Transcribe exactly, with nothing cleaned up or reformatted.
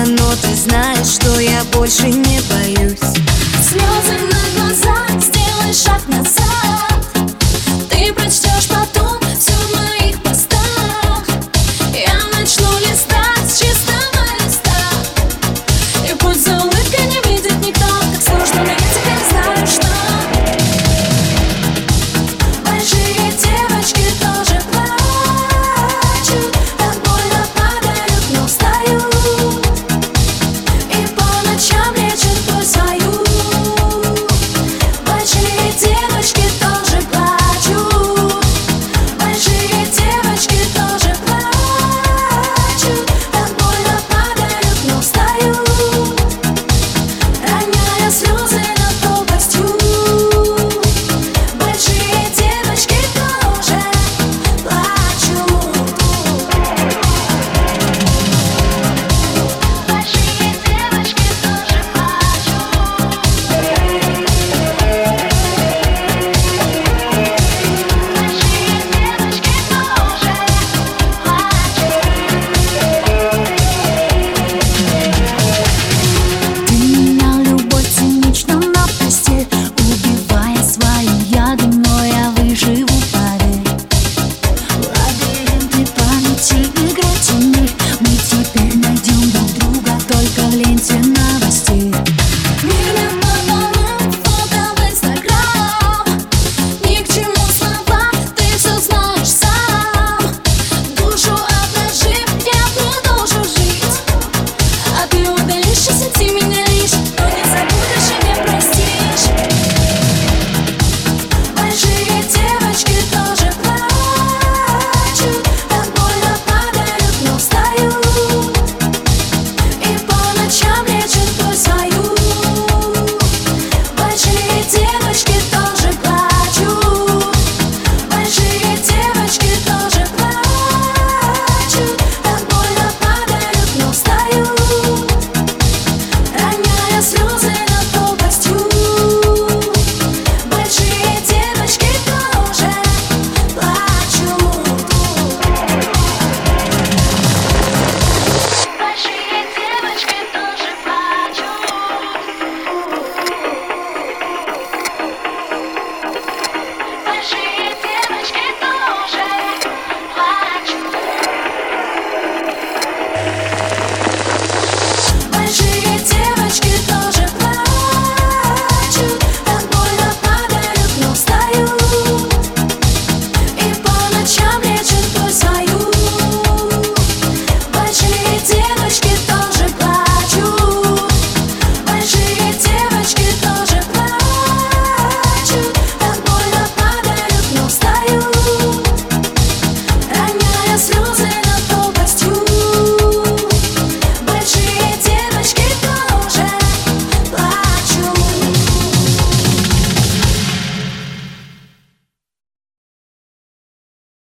но ты знаешь, что я больше не боюсь. Слезы на глазах, сделай шаг назад. Ты прочтешь потом все в моих постах. Я начну листать с чистого листа, и пусть за улыбкой не видит никто, как сложно, но я теперь знаю, что большие девочки тоже плачут, так больно падают, но встают, и по ночам лечат боль свою. Большие девочки тоже плачут, большие девочки тоже плачут, так больно падают, но встают, роняя слезы над пропастью. Большие девочки тоже плачут. Большие девочки тоже плачут. Ты менял любовь цинично на постель, убивая свои яды, но я выживу, поверь. Лабиринты памяти, игра теней, мы теперь найдем друг друга только в ленте новостей. Мир не по-новому, фото в Инстаграм. Ни к чему слова, ты все знаешь сам. Душу обнажив, я продолжу жить, а ты удалишь и сети меня лишь, но не забудешь и не простишь. Большие девочки тоже плачут, так больно падают, но встают, и по ночам лечат боль свою. Большие девочки тоже плачут, большие девочки тоже плачут, так больно падают, но встают, роняя слезы над пропастью. Большие девочки тоже плачут. Большие девочки тоже плачут. Большие девочки тоже плачут. Большие девочки тоже плачут, так больно падают, но встают, и по ночам лечат боль свою. Большие девочки тоже плачут, большие девочки тоже плачут, так больно падают, но встают, роняя слезы.